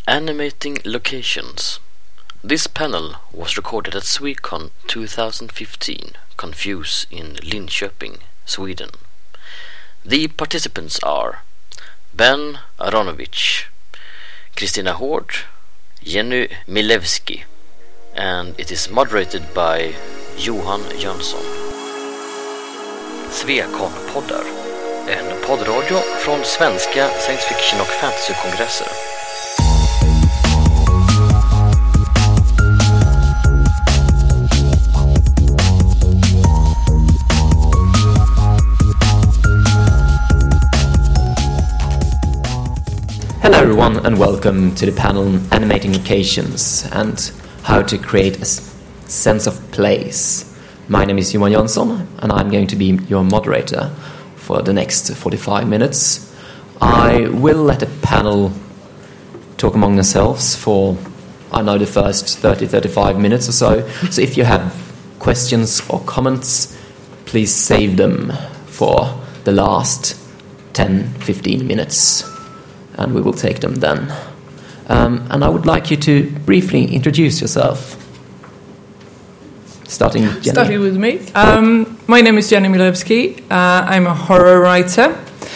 Animating Locations. This panel was recorded at Swecon 2015, Confuse in Linköping, Sweden. The participants are Ben Aronovich, Kristina Hård, Jenny Milewski, and it is moderated by Johan Jönsson. Swecon-poddar, en poddradio från svenska science fiction och fantasy-kongresser. Hello everyone and welcome to the panel Animating Locations and how to create a sense of place. My name is Johan Jönsson and I'm going to be your moderator for the next 45 minutes. I will let the panel talk among themselves for, the first 30-35 minutes or so. So if you have questions or comments, please save them for the last 10-15 minutes. And we will take them then. And I would like you to briefly introduce yourself. Starting with me. My name is Jenny Milewski. I'm a horror writer.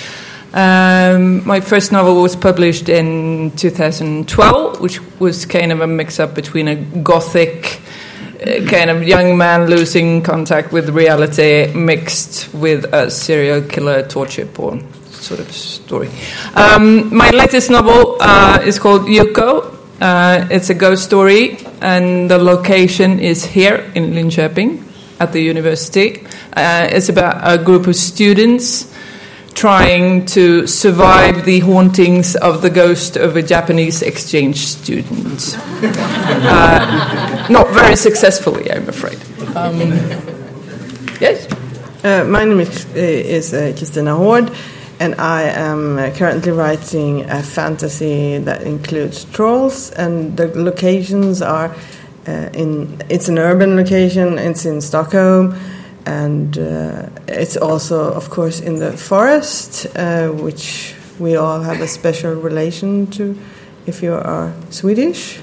My first novel was published in 2012, which was kind of a mix-up between a gothic kind of young man losing contact with reality mixed with a serial killer torture porn sort of story. My latest novel is called Yuko. It's a ghost story, and the location is here in Linköping at the university. It's about a group of students trying to survive the hauntings of the ghost of a Japanese exchange student. Not very successfully, I'm afraid. Yes? My name is Kristina Hård. And I am currently writing a fantasy that includes trolls, and the locations are it's an urban location, it's in Stockholm, and it's also, of course, in the forest, which we all have a special relation to if you are Swedish.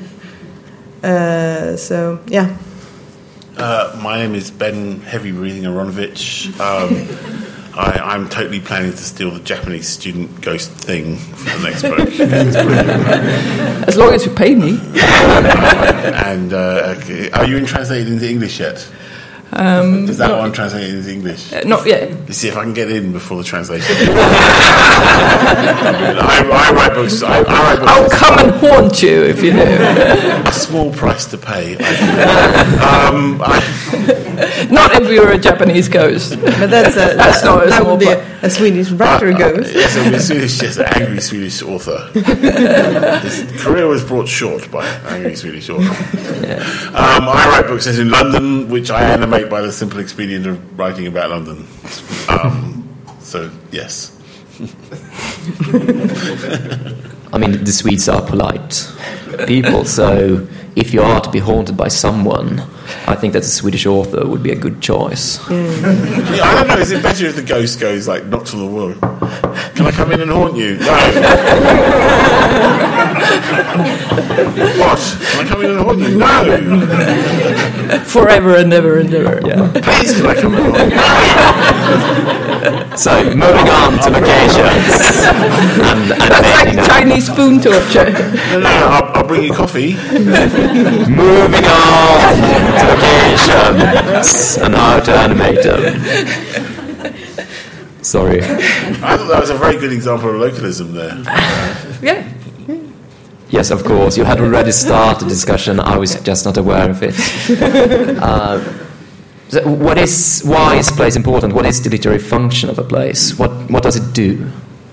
So, yeah. My name is Ben Heavy Breathing Aronovich. I'm totally planning to steal the Japanese student ghost thing for the next book. As long as you pay me. And are you translated into English yet? Is that one translated into English? Not yet. You see if I can get in before the translation. I write books. I'll come and haunt you if you do. A small price to pay. Not if you're a Japanese ghost. But that would be a Swedish writer ghost. Yes, an angry Swedish author. His career was brought short by an angry Swedish author. Yeah. I write books set in London, which I animate by the simple expedient of writing about London. So, yes. I mean, the Swedes are polite people, so if you are to be haunted by someone, I think that a Swedish author would be a good choice. Yeah, I don't know, is it better if the ghost goes, like, knocks on the wall? Can I come in and haunt you? No. What? Can I come in and haunt you? No. Forever and ever and ever. Yeah. Please, can I come in and haunt you? So, moving on to locations. That's like Chinese spoon torture. No, I'll bring you coffee. Moving on to locations and how to animate them. Sorry. I thought that was a very good example of localism there. Yeah. Yes, of course. You had already started the discussion. I was just not aware of it. Why is place important? What is the literary function of a place? What does it do?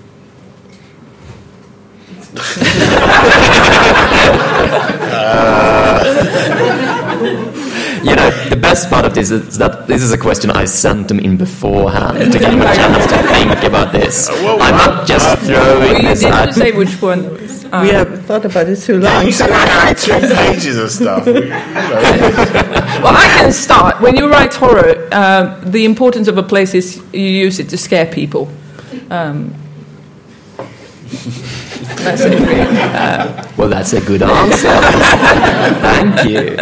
The best part of this is that this is a question I sent them in beforehand to give them a chance to think about this. I'm not just throwing this out. You didn't say which one. We have thought about it too long. You said I had 2 pages of stuff. Well, I can start. When you write horror, the importance of a place is you use it to scare people. That's it. Really. Well, that's a good answer. Thank you.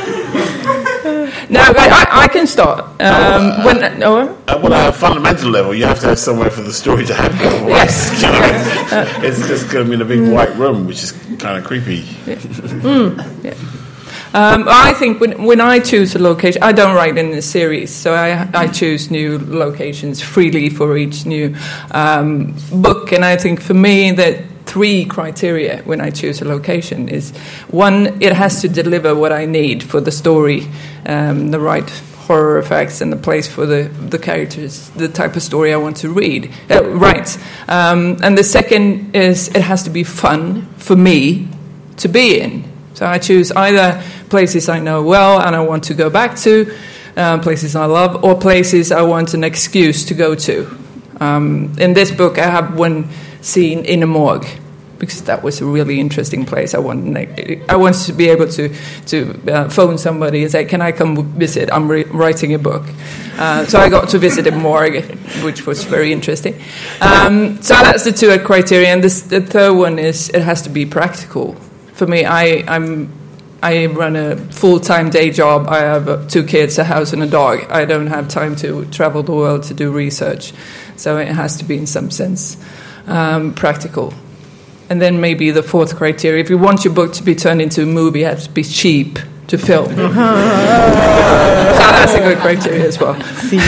No, but I can start. Well, at a fundamental level, you have to have somewhere for the story to happen. Yes. It's just going to be in a big white room, which is kind of creepy. Yeah. I think when I choose a location, I don't write in a series, so I choose new locations freely for each new book. And I think for me that 3 criteria when I choose a location is, 1, it has to deliver what I need for the story, the right horror effects and the place for the characters, the type of story I want to write. And the second is it has to be fun for me to be in. So I choose either places I know well and I want to go back to, places I love, or places I want an excuse to go to. In this book, I have one scene in a morgue because that was a really interesting place. I wanted to be able to phone somebody and say, "Can I come visit? I'm writing a book." So I got to visit a morgue, which was very interesting. So that's the 2 criteria, and the third one is it has to be practical. For me, I run a full-time day job. I have 2 kids, a house, and a dog. I don't have time to travel the world to do research. So it has to be, in some sense, practical. And then maybe the 4th criteria, if you want your book to be turned into a movie, it has to be cheap to film. So that's a good criteria as well.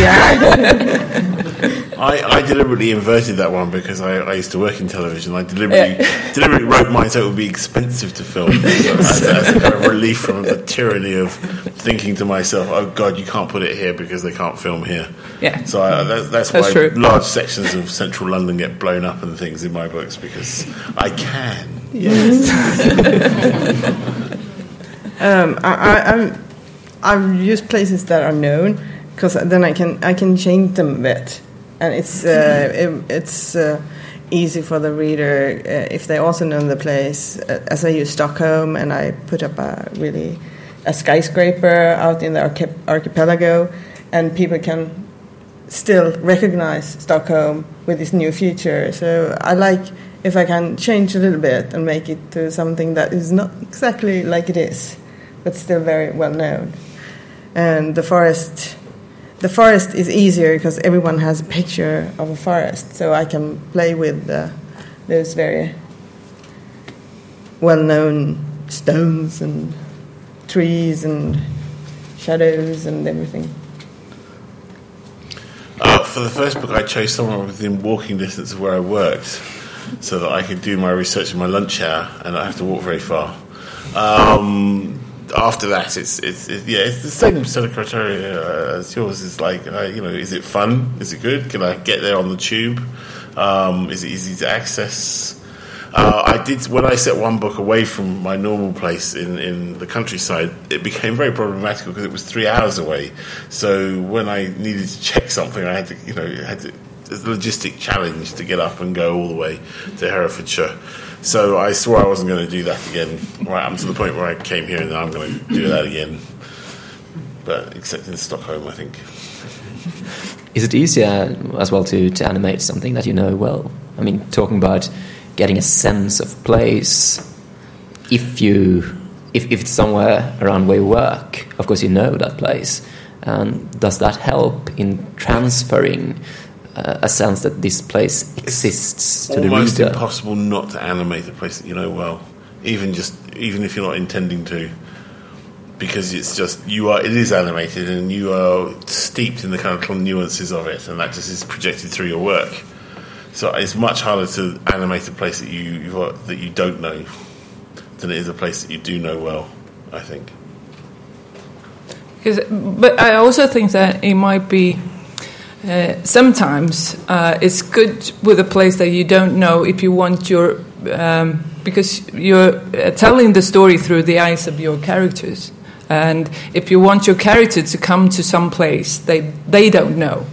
I deliberately inverted that one because I used to work in television. I deliberately wrote mine so it would be expensive to film as a kind of relief from the tyranny of thinking to myself, "Oh God, you can't put it here because they can't film here." Yeah. So that's why true. large sections of central London get blown up and things in my books, because I can. Yes. I've used places that are known because then I can change them a bit. And it's easy for the reader if they also know the place. As I use Stockholm, and I put up a skyscraper out in the archipelago, and people can still recognize Stockholm with this new feature. So I like if I can change a little bit and make it to something that is not exactly like it is, but still very well known. And the forest is easier because everyone has a picture of a forest, so I can play with those very well-known stones and trees and shadows and everything. For the first book, I chose somewhere within walking distance of where I worked, so that I could do my research in my lunch hour and not have to walk very far. After that, it's the same set of criteria as yours. It's like, is it fun? Is it good? Can I get there on the tube? Is it easy to access? When I set one book away from my normal place in the countryside, it became very problematical because it was 3 hours away. So when I needed to check something, I had to, it's a logistic challenge to get up and go all the way to Herefordshire. So I swore I wasn't going to do that again. Right up to the point where I came here, and then I'm going to do that again. But except in Stockholm, I think. Is it easier as well to animate something that you know well? I mean, talking about getting a sense of place. If it's somewhere around where you work, of course you know that place. And does that help in transferring a sense that this place exists to the reader? Almost impossible not to animate a place that you know well, even if you're not intending to, because it is animated and you are steeped in the kind of nuances of it, and that just is projected through your work. So it's much harder to animate a place that you don't know than it is a place that you do know well, I think. But I also think that it might be sometimes it's good with a place that you don't know if you want because you're telling the story through the eyes of your characters, and if you want your character to come to some place they don't know,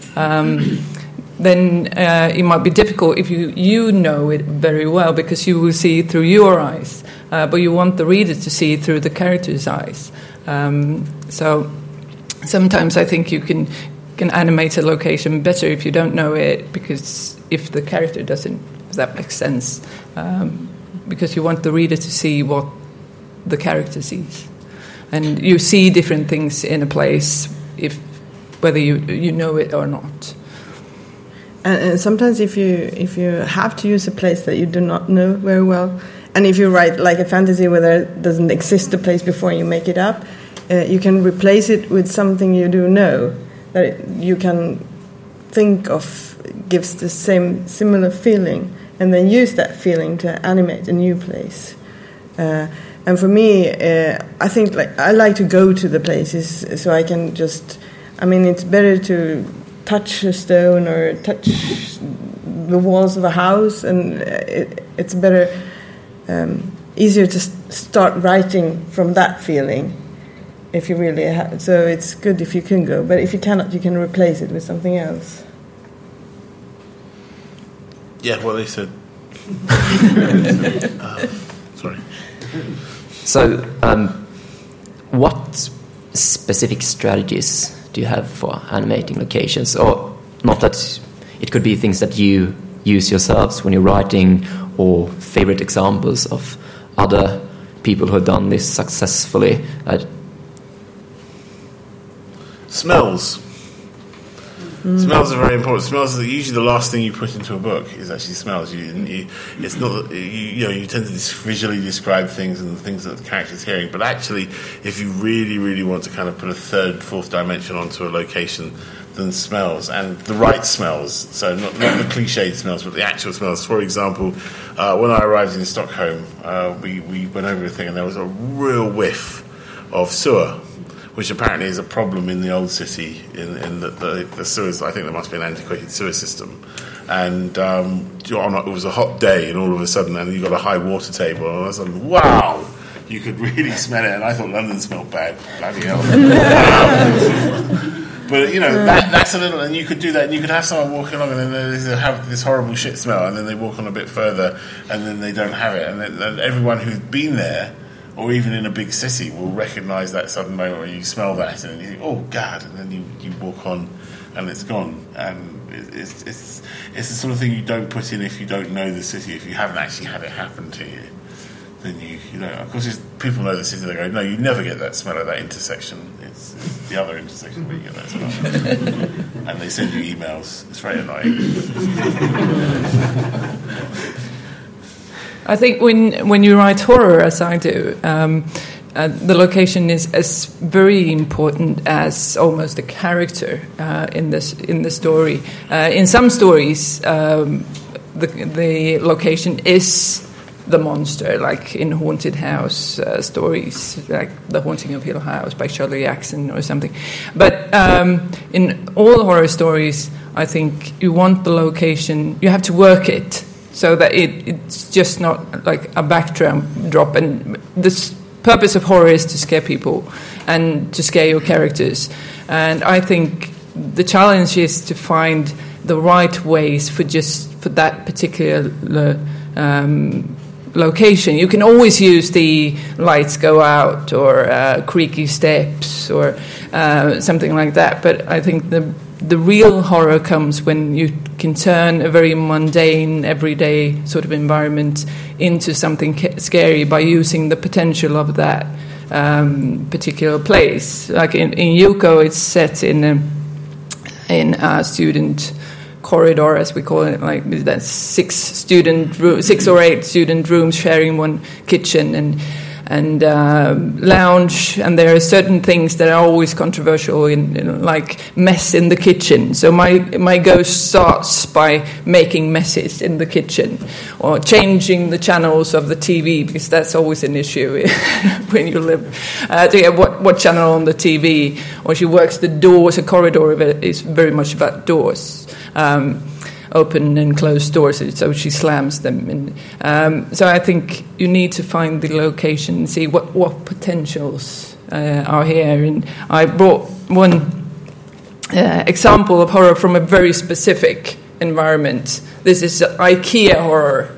then it might be difficult if you know it very well because you will see it through your eyes, but you want the reader to see it through the character's eyes. So sometimes I think you can animate a location better if you don't know it, because if the character doesn't if that makes sense, because you want the reader to see what the character sees, and you see different things in a place whether you know it or not. And sometimes if you have to use a place that you do not know very well, and if you write like a fantasy where there doesn't exist a place before you make it up, you can replace it with something you do know that you can think of gives the similar feeling, and then use that feeling to animate a new place. And for me, I think I like to go to the places so I can just. I mean, it's better to touch a stone or touch the walls of a house, and it's better, easier to start writing from that feeling. If you really have, so it's good if you can go, but if you cannot, you can replace it with something else. Yeah, well, they said. Sorry. So, what specific strategies do you have for animating locations? Or not that it could be things that you use yourselves when you're writing, or favorite examples of other people who have done this successfully. Smells. Smells are very important. Smells are usually the last thing you put into a book is actually smells. It's not you tend to visually describe things and the things that the character's hearing, but actually, if you really, really want to kind of put a third, fourth dimension onto a location, then smells, and the right smells. So not the cliched smells, but the actual smells. For example, when I arrived in Stockholm, we went over a thing, and there was a real whiff of sewer, which apparently is a problem in the old city, in the sewers. I think there must be an antiquated sewer system. And it was a hot day, and all of a sudden, and you got a high water table, and all of a sudden, wow, you could really smell it. And I thought London smelled bad. Bloody hell. But, that's a little, and you could do that, and you could have someone walking along, and then they have this horrible shit smell, and then they walk on a bit further, and then they don't have it. And everyone who's been there, or even in a big city, will recognise that sudden moment where you smell that, and you think, oh, God, and then you walk on, and it's gone. And it's the sort of thing you don't put in if you don't know the city, if you haven't actually had it happen to you. Then you know, of course, people know the city, they go, no, you never get that smell at that intersection. It's the other intersection where you get that smell. And they send you emails. It's very annoying. I think when you write horror, as I do, the location is as very important as almost the character in the story. In some stories, the location is the monster, like in Haunted House stories, like The Haunting of Hill House by Shirley Jackson or something. But in all horror stories, I think you want the location, you have to work it so that it's just not like a backdrop. And the purpose of horror is to scare people and to scare your characters. And I think the challenge is to find the right ways for that particular location. You can always use the lights go out or creaky steps or something like that, but I think the real horror comes when you can turn a very mundane, everyday sort of environment into something scary by using the potential of that particular place. Like in Yuko, it's set in a student corridor, as we call it, like that's 6 or 8 student rooms sharing one kitchen and lounge, and there are certain things that are always controversial, in like mess in the kitchen. So my ghost starts by making messes in the kitchen, or changing the channels of the TV, because that's always an issue when you live. What channel on the TV, or she works the doors. A corridor is very much about doors. Open and closed doors, so she slams them. And so I think you need to find the location and see what potentials are here. And I brought one example of horror from a very specific environment. This is IKEA horror.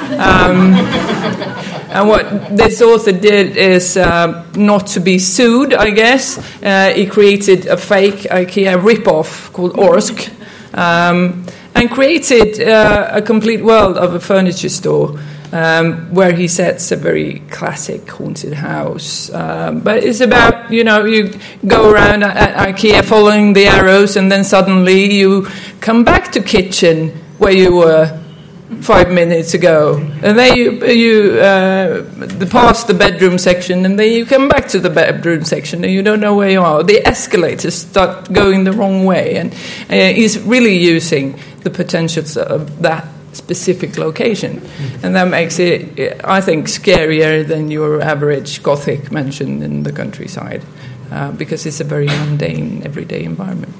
And what this author did is not to be sued, I guess. He created a fake IKEA ripoff called Orsk. and created a complete world of a furniture store. Where he sets a very classic haunted house. But it's about, you go around at IKEA following the arrows, and then suddenly you come back to kitchen where you were 5 minutes ago. And then you pass the bedroom section, and then you come back to the bedroom section, and you don't know where you are. The escalators start going the wrong way. And he's really using the potentials of that specific location, and that makes it, I think, scarier than your average Gothic mansion in the countryside, because it's a very mundane, everyday environment.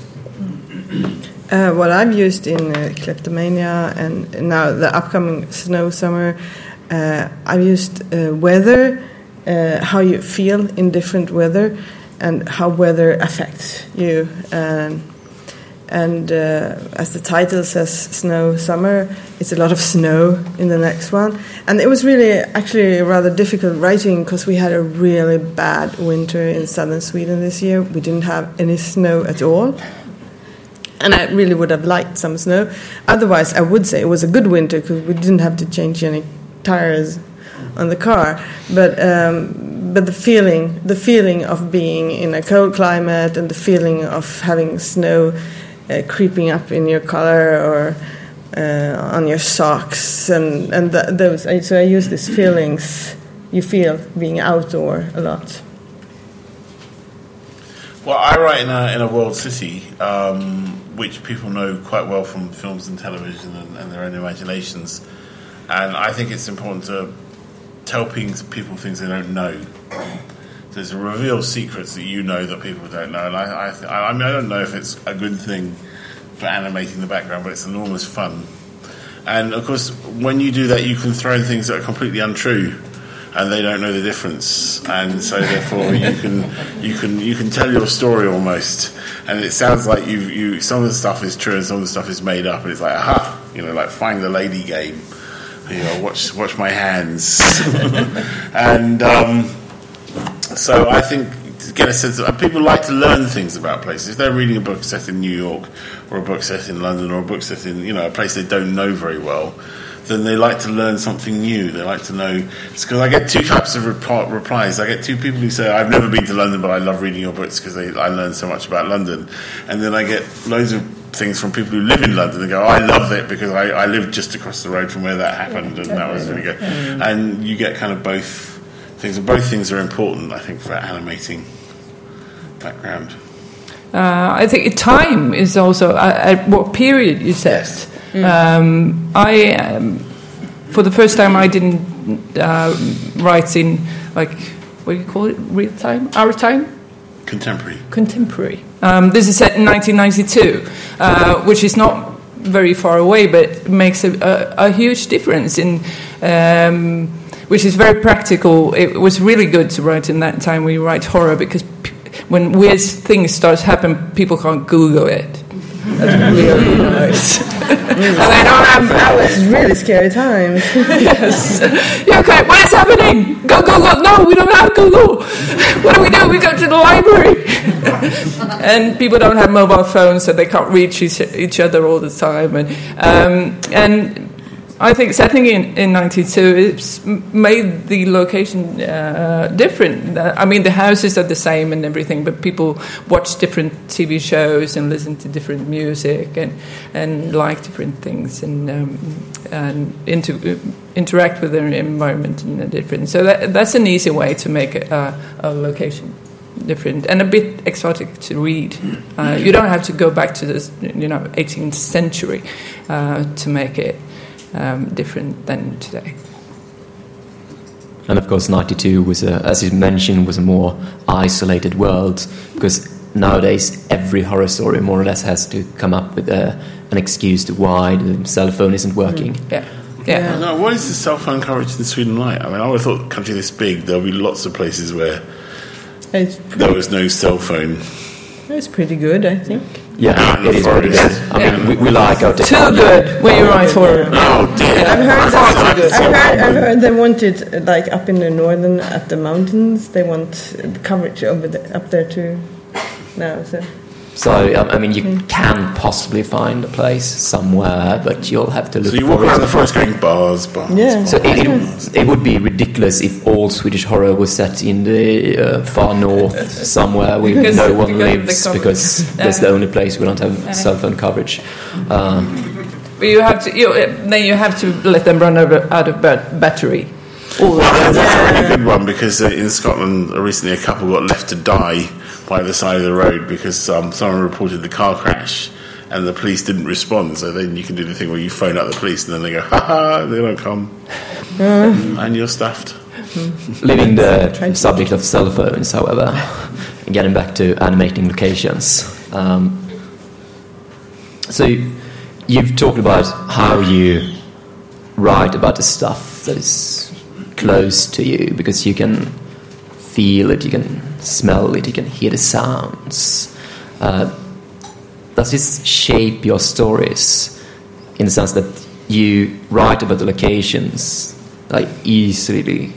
What I've used in Kleptomania and now the upcoming Snow Summer, I've used weather, how you feel in different weather, and how weather affects you. And as the title says, Snow Summer, it's a lot of snow in the next one. And it was really actually rather difficult writing because we had a really bad winter in southern Sweden this year. We didn't have any snow at all. And I really would have liked some snow. Otherwise, I would say it was a good winter because we didn't have to change any tires on the car. But the feeling of being in a cold climate and the feeling of having snow creeping up in your collar or on your socks, and those. So I use these feelings you feel being outdoor a lot. Well, I write in a world city, which people know quite well from films and television and their own imaginations, and I think it's important to tell people things they don't know. There's a reveal secrets that you know that people don't know, and I mean, I don't know if it's a good thing for animating the background, but it's enormous fun. And of course, when you do that, you can throw in things that are completely untrue, and they don't know the difference, and so therefore you can tell your story almost, and it sounds like you some of the stuff is true and some of the stuff is made up, and it's like aha, like Find the Lady game, watch my hands, and. So I think to get a sense of, people like to learn things about places. If they're reading a book set in New York or a book set in London or a book set in a place they don't know very well, then they like to learn something new. They like to know. It's because I get two types of replies. I get two people who say, I've never been to London, but I love reading your books because I learn so much about London. And then I get loads of things from people who live in London and go, I love it because I lived just across the road from where that happened, and that was really good. And you get kind of both things, and both things are important, I think, for animating background. I think time is also at what period you set. I for the first time I didn't write in what do you call it, real time, our time, contemporary. This is set in 1992, which is not very far away, but makes a huge difference in. Which is very practical. It was really good to write in that time when you write horror, because when weird things start to happen, people can't Google it. That's really nice. That was really scary times. Yes. Yeah, okay, what is happening? Go. No, we don't have Google. What do? We go to the library. And people don't have mobile phones, so they can't reach each other all the time. And I think setting in 92, it's made the location different. I mean, the houses are the same and everything, but people watch different TV shows and listen to different music and like different things and interact with their environment in a different. So that's an easy way to make a location different and a bit exotic to read. You don't have to go back to the 18th century to make it different than today. And of course 92 was, as you mentioned, was a more isolated world, because nowadays every horror story more or less has to come up with an excuse to why the cell phone isn't working. Yeah. No, what is the cell phone coverage in Sweden like? I mean, I would have thought a country this big there'll be lots of places where there was no cell phone. It's pretty good, I think. Yeah, it is pretty good. I mean, we like our technology. Too good when you write horror. Oh dear! I've heard they want it like up in the northern at the mountains. They want coverage up there too now. So So, I mean, you can possibly find a place somewhere, but you'll have to look So you for walk it. around the forest going bars. Yeah. So it would be ridiculous if all Swedish horror was set in the far north somewhere where Because- no one because of the lives, coverage. because that's the only place we don't have cell phone coverage. But you have to. Then you have to let them run out of battery. That's a really good one, because in Scotland recently a couple got left to die by the side of the road because someone reported the car crash and the police didn't respond. So then you can do the thing where you phone up the police and then they go, ha ha, they don't come. And you're stuffed. Leaving the subject of cell phones, however, and getting back to animating locations. So you've talked about how you write about the stuff that is close to you, because you can feel it, you can smell it, you can hear the sounds. Does this shape your stories in the sense that you write about the locations like easily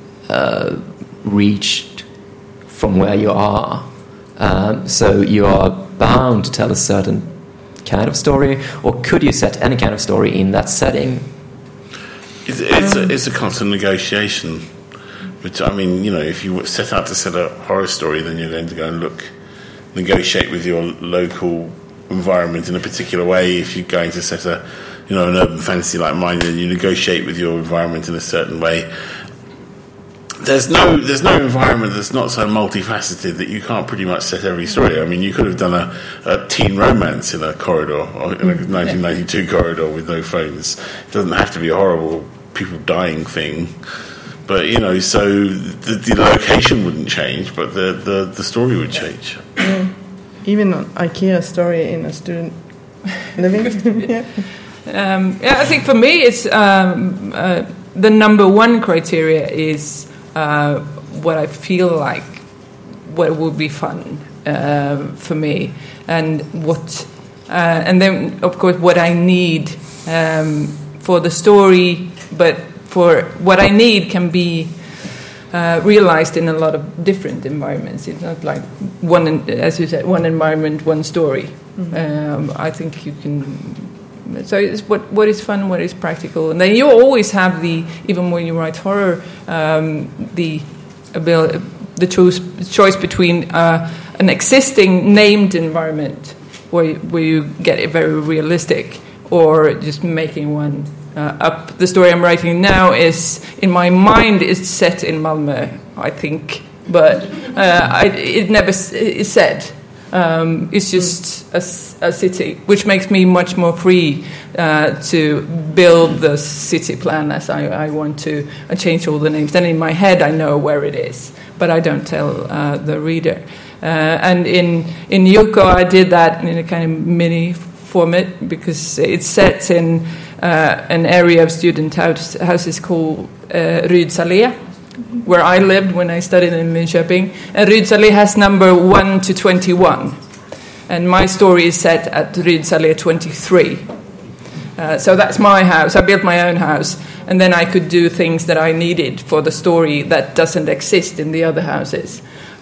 reached from where you are, so you are bound to tell a certain kind of story, or could you set any kind of story in that setting? It's a constant negotiation. Which, I mean, you know, if you set out to set a horror story, then you're going to go and negotiate with your local environment in a particular way. If you're going to set an urban fantasy like mine, then you negotiate with your environment in a certain way. There's no environment that's not so multifaceted that you can't pretty much set every story. I mean, you could have done a teen romance in a corridor, or in a 1992 corridor with no phones. It doesn't have to be a horrible people dying thing. But, you know, so the location wouldn't change, but the story would change. Yeah. Even an IKEA story in a student living. Yeah. I think for me, it's the number one criteria is what I feel like, what would be fun for me, and and then of course what I need for the story, but for what I need can be realized in a lot of different environments. It's not like as you said, one environment, one story. Mm-hmm. I think you can. So it's what is fun, what is practical, and then you always have even when you write horror, the choice between an existing named environment where you get it very realistic, or just making one up. The story I'm writing now is, in my mind, is set in Malmö, I think, but it never is said. It's just a city, which makes me much more free to build the city plan as I want to. I change all the names. Then in my head I know where it is, but I don't tell the reader. And in Yuko I did that in a kind of mini format, because it's set in an area of student houses called Rydsalé, where I lived when I studied in Linköping. And Rydsalé has number 1 to 21. And my story is set at Rydsalé 23. So that's my house. I built my own house. And then I could do things that I needed for the story that doesn't exist in the other houses.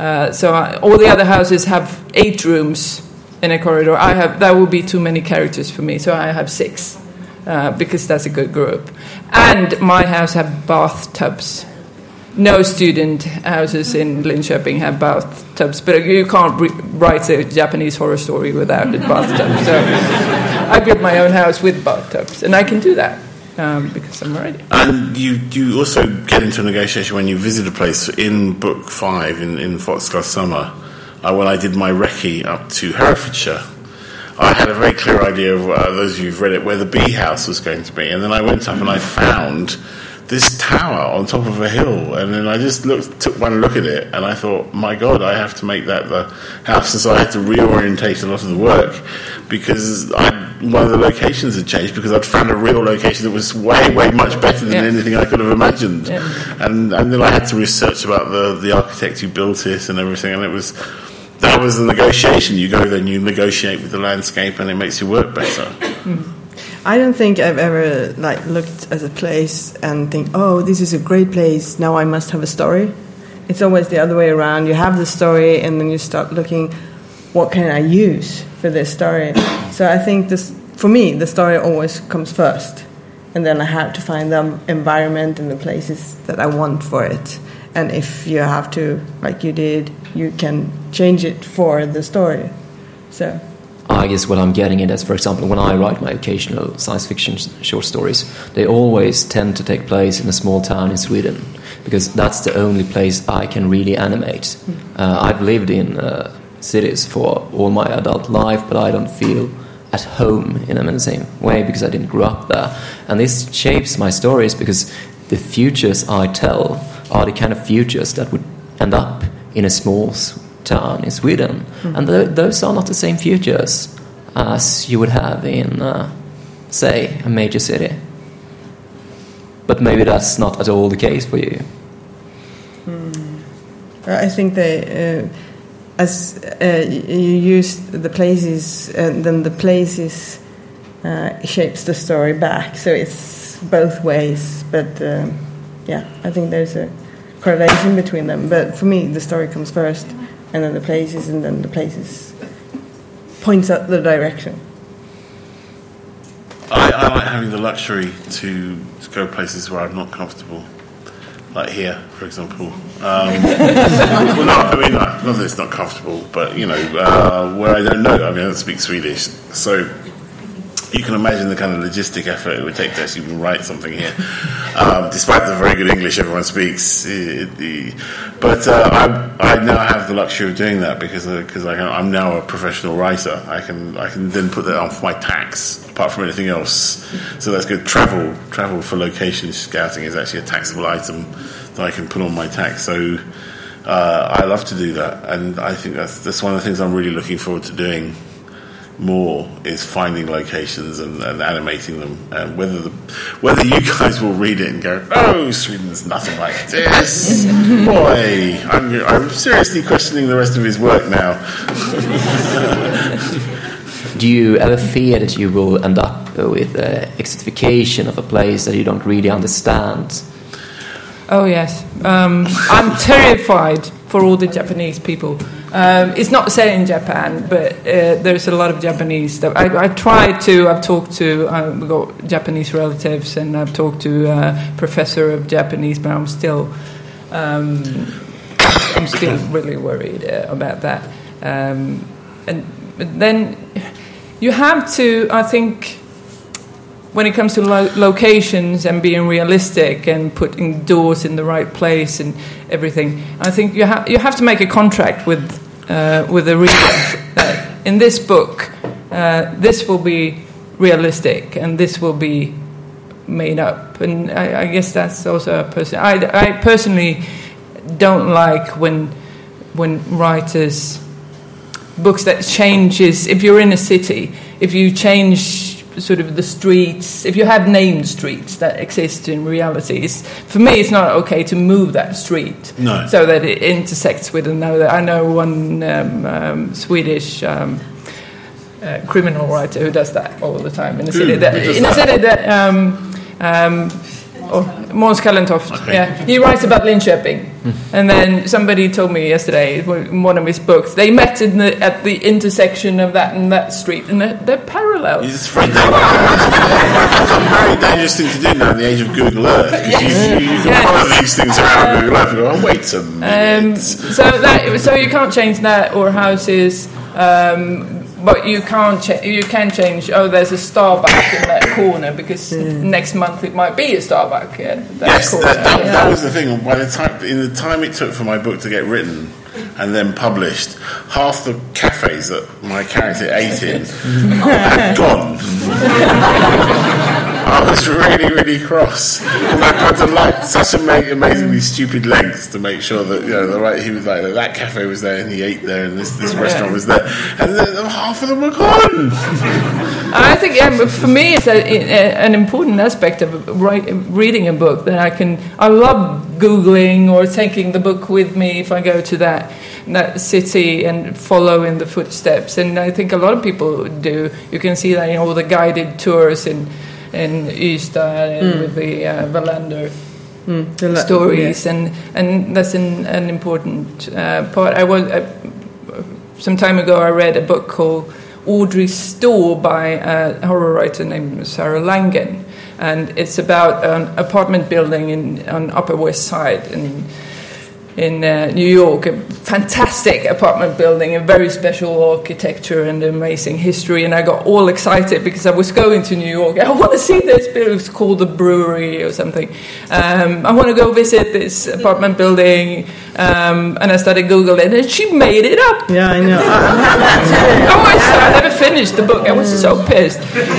All the other houses have 8 rooms in a corridor. That would be too many characters for me, so I have 6. Because that's a good group. And my house have bathtubs. No student houses in Linköping have bathtubs, but you can't write a Japanese horror story without a bathtub. So I built my own house with bathtubs, and I can do that because I'm ready. And you also get into a negotiation when you visit a place. In book 5, in Foxglove Summer, when I did my recce up to Herefordshire, I had a very clear idea of, those of you who've read it, where the bee house was going to be. And then I went up and I found this tower on top of a hill, and then I just took one look at it, and I thought, my God, I have to make that the house. And so I had to reorientate a lot of the work, because one of the locations had changed, because I'd found a real location that was way, way much better than anything I could have imagined. Yeah. And then I had to research about the architect who built it and everything, and that was the negotiation. You go there and you negotiate with the landscape, and it makes your work better. I don't think I've ever looked at a place and think, oh, this is a great place, now I must have a story. It's always the other way around. You have the story, and then you start looking, what can I use for this story? So I think for me, the story always comes first. And then I have to find the environment and the places that I want for it. And if you have to, like you did, you can change it for the story. So I guess what I'm getting at is, for example, when I write my occasional science fiction short stories, they always tend to take place in a small town in Sweden, because that's the only place I can really animate. I've lived in cities for all my adult life, but I don't feel at home in the same way because I didn't grow up there. And this shapes my stories because the futures I tell are the kind of futures that would end up in a small town in Sweden. And those are not the same futures as you would have in, say, a major city. But maybe that's not at all the case for you. I think as you use the places, and then the places shapes the story back. So it's both ways. But I think there's a correlation between them. But for me, the story comes first, and then the places, and then the places points out the direction. I like having the luxury to go places where I'm not comfortable. Like here, for example. Well, not that it's not comfortable, but, where I don't know. I don't speak Swedish. So you can imagine the kind of logistic effort it would take to actually write something here, despite the very good English everyone speaks. But I now have the luxury of doing that because I'm now a professional writer. I can then put that on for my tax, apart from anything else. So that's good. Travel for location scouting is actually a taxable item that I can put on my tax. So I love to do that, and I think that's one of the things I'm really looking forward to doing more, is finding locations and animating them, and whether you guys will read it and go, oh, Sweden's nothing like this. Boy, I'm seriously questioning the rest of his work now. Do you ever fear that you will end up with exotification of a place that you don't really understand? Oh yes, I'm terrified for all the Japanese people. It's not set in Japan, but there's a lot of Japanese stuff. I've talked to, we've got Japanese relatives, and I've talked to a professor of Japanese, but I'm still really worried about that. But then you have to, I think, when it comes to locations and being realistic and putting doors in the right place and everything, I think you have to make a contract with the reader that in this book this will be realistic and this will be made up. And I guess that's also a person. I personally don't like when writers books that changes. If you're in a city, if you change sort of the streets, if you have named streets that exist in realities, for me it's not okay to move that street so that it intersects with another. I know one Swedish criminal writer who does that all the time in a city Måns Kallentoft. Okay. Yeah, he writes about Linköping, and then somebody told me yesterday in one of his books they met at the intersection of that and that street, and they're parallel. It's very dangerous thing to do now in the age of Google Earth, because you can follow these things around Google Earth and go, oh, wait a minute. So you can't change that, or houses. But you can change. Oh, there's a Starbucks in that corner because next month it might be a Starbucks. That was the thing. By the time it took for my book to get written and then published, half the cafes that my character ate in had gone. I was really, really cross. And I got to such amazingly stupid lengths to make sure that he was like that cafe was there and he ate there and this restaurant was there, and then half of them were gone. I think for me it's an important aspect of reading a book that I love Googling or taking the book with me if I go to that city and follow in the footsteps, and I think a lot of people do. You can see that in all the guided tours in Ystad and with the Wallander stories, and that's an important part. some time ago I read a book called Audrey's Store by a horror writer named Sarah Langen, and it's about an apartment building on Upper West Side in New York, a fantastic apartment building, a very special architecture and amazing history. And I got all excited because I was going to New York. I want to see this building. It's called the Brewery or something. I want to go visit this apartment building. And I started Googling, and she made it up. Yeah, I know. I never finished the book. I was so pissed.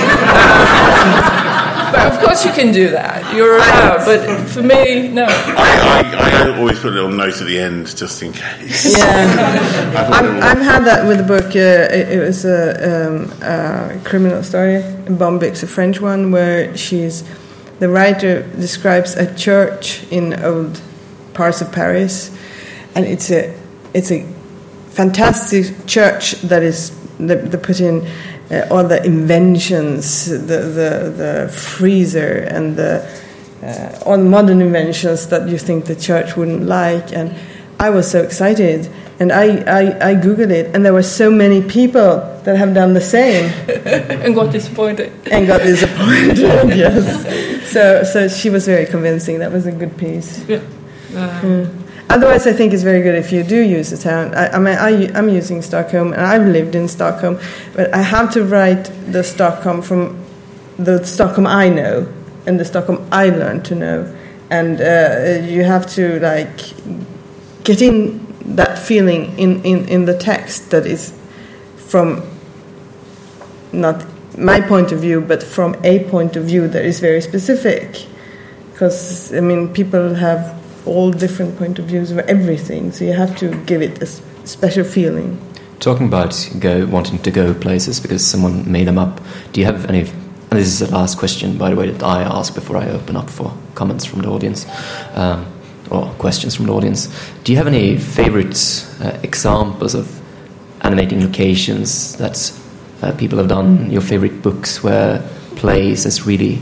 But of course you can do that. You're allowed. But for me, no. I always put a little note at the end just in case. Yeah, I've had that with the book. It was a criminal story. Bombix, a French one, where the writer describes a church in old parts of Paris, and it's a fantastic church that is they put in all the inventions, the freezer and all modern inventions that you think the church wouldn't like. And I was so excited, and I Googled it, and there were so many people that have done the same. And got disappointed. Yes. So she was very convincing. That was a good piece. Yeah. Otherwise, I think it's very good if you do use a town. I'm using Stockholm, and I've lived in Stockholm, but I have to write the Stockholm from the Stockholm I know and the Stockholm I learned to know, and you have to get in that feeling in the text that is from not my point of view, but from a point of view that is very specific, because people have all different point of views of everything, so you have to give it a special feeling. Talking about wanting to go places because someone made them up, do you have any, and this is the last question, by the way, that I ask before I open up for comments from the audience, or questions from the audience, do you have any favorite examples of animating locations that people have done, your favorite books where plays has really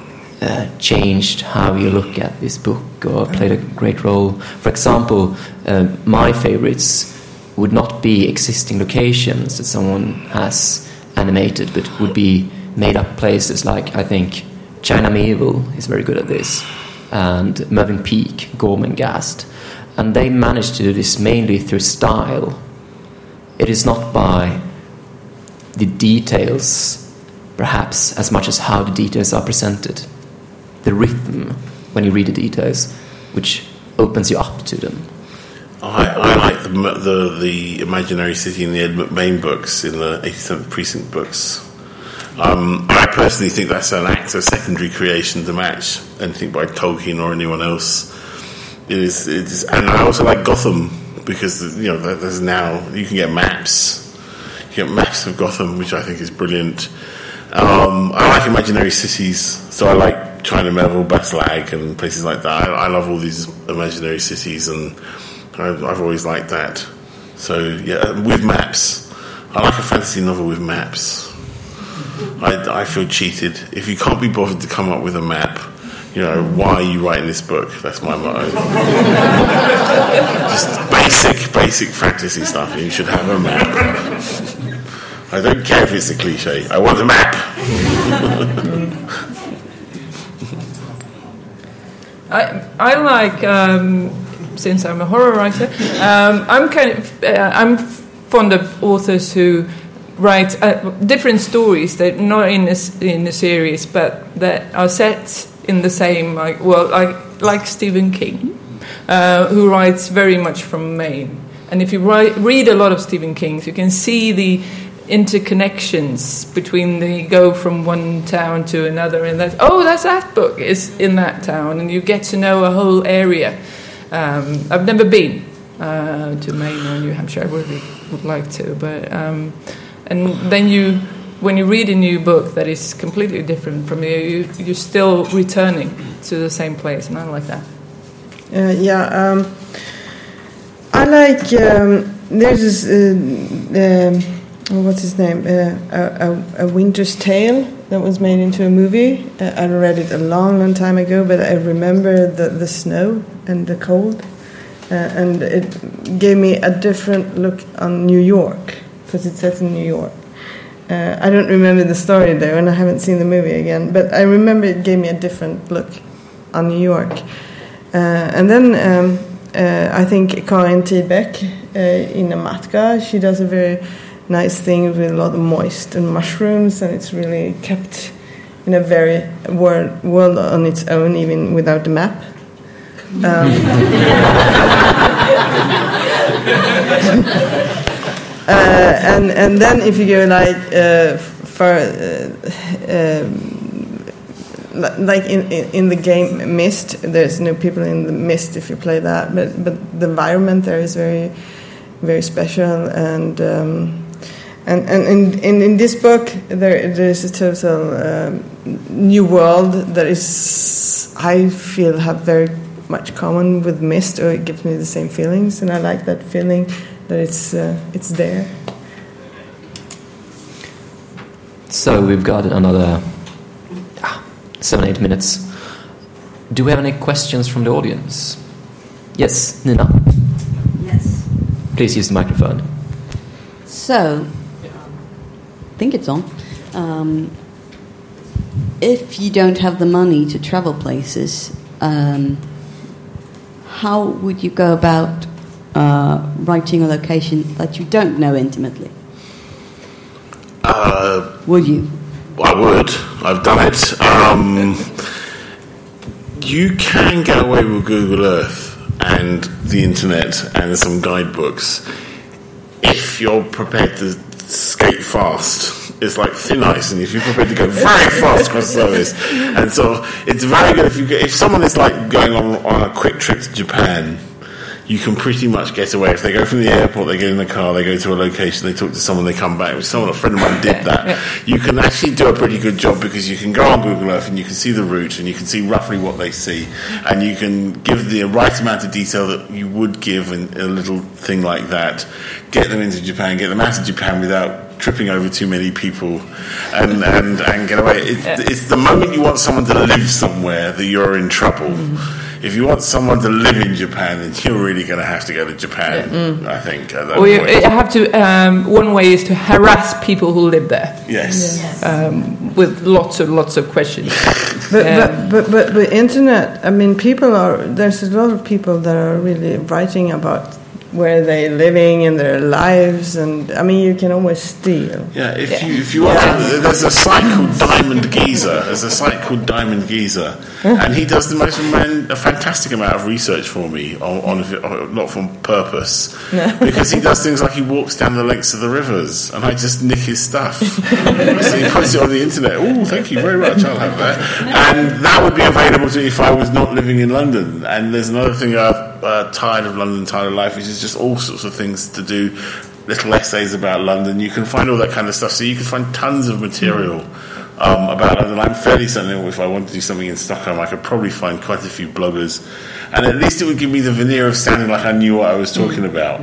changed how you look at this book or played a great role? For example, my favorites would not be existing locations that someone has animated, but would be made up places. Like, I think China Medieval is very good at this, and Mervyn Peake, Gormenghast, and they managed to do this mainly through style. It is not by the details, perhaps, as much as how the details are presented. The rhythm, when you read the details, which opens you up to them. I like the Imaginary City in the Ed McBain books, in the 87th Precinct books. I personally think that's a secondary creation to match anything by Tolkien or anyone else. It is, and I also like Gotham because there's now you can get maps. You get maps of Gotham, which I think is brilliant. I like imaginary cities, so I like China Medieval, Baslag, and places like that. I love all these imaginary cities, and I've always liked that. So yeah, with maps, I like a fantasy novel with maps. I feel cheated if you can't be bothered to come up with a map. Why are you writing this book? That's my motto. Just basic fantasy stuff. You should have a map. I don't care if it's a cliche. I want a map. I like, since I'm a horror writer, I'm fond of authors who write different stories that not in a series, but that are set in the same, like Stephen King, who writes very much from Maine. And if you read a lot of Stephen King's, you can see the interconnections between the go from one town to another, and that's that book is in that town, and you get to know a whole area. I've never been to Maine or New Hampshire. I really would like to, but and then when you read a new book that is completely different from you're still returning to the same place, and I like that. I like there's this what's his name? A Winter's Tale that was made into a movie. I read it a long time ago, but I remember the snow and the cold. and it gave me a different look on New York, because it says in New York. I don't remember the story though, and I haven't seen the movie again, but I remember it gave me a different look on New York. And then I think Karin Tibeck in Amatka, she does a very nice thing with a lot of moist and mushrooms, and it's really kept in a very world on its own, even without the map. And then if you go like in the game Myst, there's no people in the Myst if you play that, but the environment there is very, very special, and in this book there's a total new world that is, I feel, have very much common with Myst, or it gives me the same feelings, and I like that feeling that it's there. So we've got another 7-8 minutes. Do we have any questions from the audience? Yes, Nina. Yes. Please use the microphone. So, I think it's on. If you don't have the money to travel places, how would you go about writing a location that you don't know intimately? Would you? I would. I've done it. You can get away with Google Earth and the internet and some guidebooks if you're prepared to skate fast. It's like thin ice, and if you're prepared to go very fast across the surface, and so it's very good if someone is like going on a quick trip to Japan. You can pretty much get away. If they go from the airport, they get in the car, they go to a location, they talk to someone, they come back. A friend of mine did that. Yeah. You can actually do a pretty good job, because you can go on Google Earth and you can see the route and you can see roughly what they see, and you can give the right amount of detail that you would give in a little thing like that. Get them into Japan, get them out of Japan without tripping over too many people, and get away. It's the moment you want someone to live somewhere that you're in trouble. Mm-hmm. If you want someone to live in Japan, then you're really going to have to go to Japan, I think. At that Or you point. have to. One way is to harass people who live there. Yes. With lots of questions. But internet, I mean, there's a lot of people that are really writing about where they're living in their lives, and I mean, you can always steal. Yeah, if you want, there's a site called Diamond Geezer, and he does a fantastic amount of research for me on not from purpose, because he does things like he walks down the lengths of the rivers, and I just nick his stuff. So he puts it on the internet. Oh, thank you very much. I'll have that, and that would be available to me if I was not living in London. And there's another thing Tired of London, Tired of Life, which is just all sorts of things to do, little essays about London. You can find all that kind of stuff, so you can find tons of material about London. I'm fairly certain if I wanted to do something in Stockholm, I could probably find quite a few bloggers, and at least it would give me the veneer of sounding like I knew what I was talking about.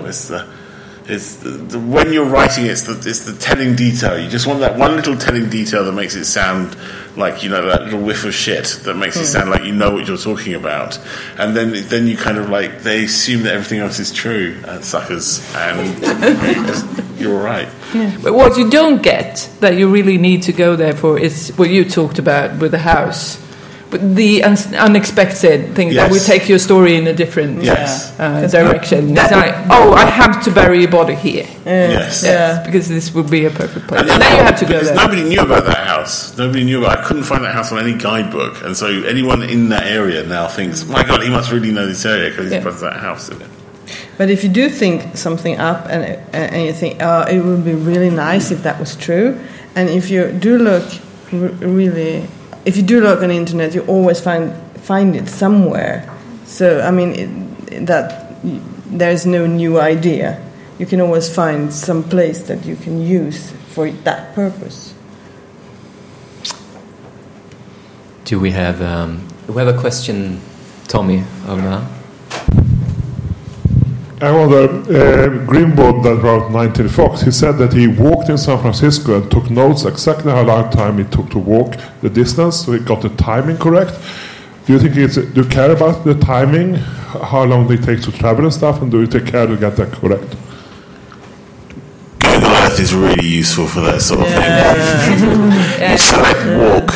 When you're writing, it's the telling detail. You just want that one little telling detail that makes it sound like, you know, that little whiff of shit that makes it sound like you know what you're talking about. And then you kind of like, they assume that everything else is true, suckers, and you're right. Yeah. But what you don't get, that you really need to go there for, is what you talked about with the house. But the unexpected thing that will take your story in a different direction. It's like, I have to bury a body here. Yes. Because this would be a perfect place. And then you have to go there. Nobody knew about that house. I couldn't find that house on any guidebook. And so anyone in that area now thinks, my God, he must really know this area because he's put that house in it. But if you do think something up and you think, it would be really nice if that was true, and if you do look if you do look on the internet, you always find it somewhere. So, I mean, that there's no new idea. You can always find some place that you can use for that purpose. Do we have a question, Tommy, over there? I wonder, Grimbaud that wrote 19 Fox, he said that he walked in San Francisco and took notes exactly how long time it took to walk the distance, so he got the timing correct. Do you think do you care about the timing, how long they take to travel and stuff, and do you take care to get that correct? Google Earth is really useful for that sort of thing. You select walk.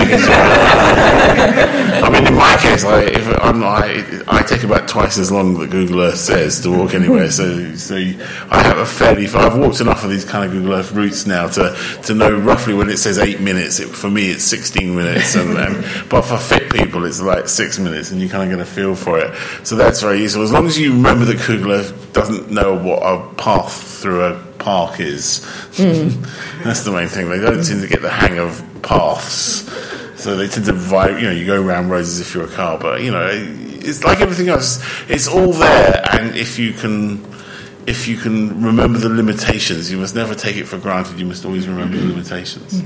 I mean, in my case, I take about twice as long that Google Earth says to walk anywhere. So I have I've walked enough of these kind of Google Earth routes now to know roughly when it says 8 minutes. For me, it's 16 minutes, but for fit people, it's like 6 minutes, and you kind of get a feel for it. So that's very useful. As long as you remember that Google Earth doesn't know what a path through a park is. That's the main thing. They don't seem to get the hang of paths, so they tend to you go around roads as if you're a car, but it's like everything else, it's all there, and if you can remember the limitations, you must never take it for granted. You must always remember the limitations.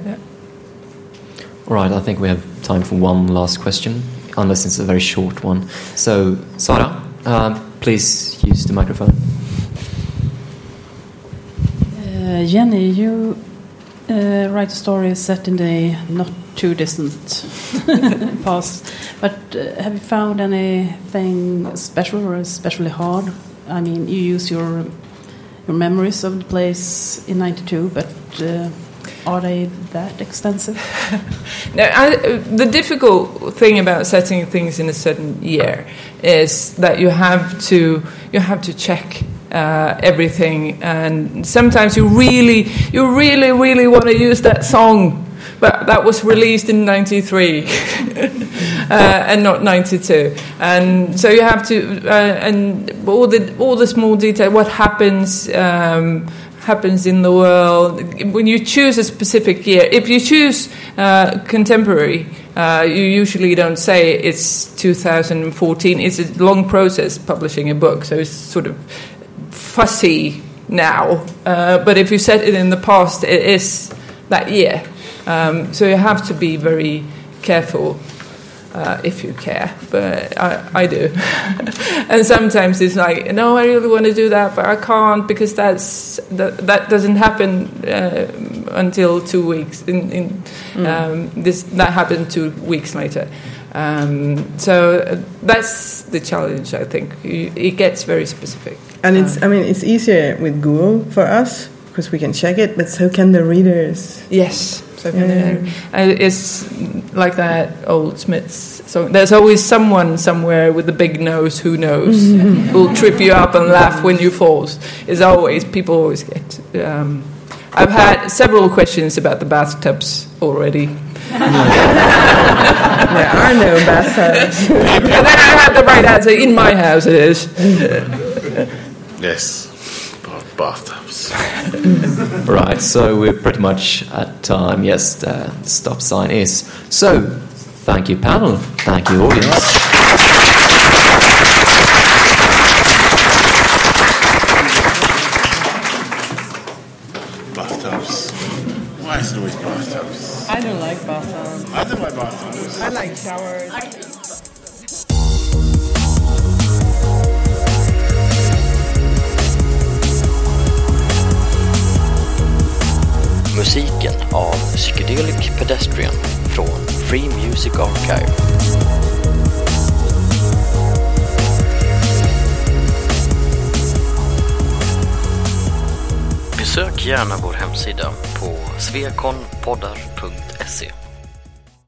All right, I think we have time for one last question, unless it's a very short one. So Sara, please use the microphone. Jenny, you write a story set in the not too distant past, but have you found anything special or especially hard? I mean, you use your memories of the place in 92, but are they that extensive? No, the difficult thing about setting things in a certain year is that you have to check everything, and sometimes you really want to use that song, but that was released in 93 and not 92, and so you have to and all the small detail, what happens in the world when you choose a specific year. If you choose contemporary, you usually don't say it's 2014. It's a long process publishing a book, so it's sort of fussy now, but if you set it in the past, it is that year. So you have to be very careful if you care, but I do. And sometimes it's like, no, I really want to do that, but I can't because that doesn't happen until 2 weeks. That happened 2 weeks later. So that's the challenge, I think. It gets very specific. And it's easier with Google for us because we can check it, but so can the readers. Yes, so can they. It's like that old Smiths song. There's always someone somewhere with a big nose who knows, who'll trip you up and laugh when you fall. People always get. I've had several questions about the bathtubs already. There are no bathtubs. And then I had the right answer. In my house it is. Yes, bathtubs. Right, so we're pretty much at time. Yes, the stop sign is. So, thank you, panel. Thank you, audience. Bathtubs. Why is it always bathtubs? I don't like bathtubs. I don't like bathtubs. I like showers. Musiken av Psychedelic Pedestrian från Free Music Archive. Besök gärna vår hemsida på svekonpoddar.se.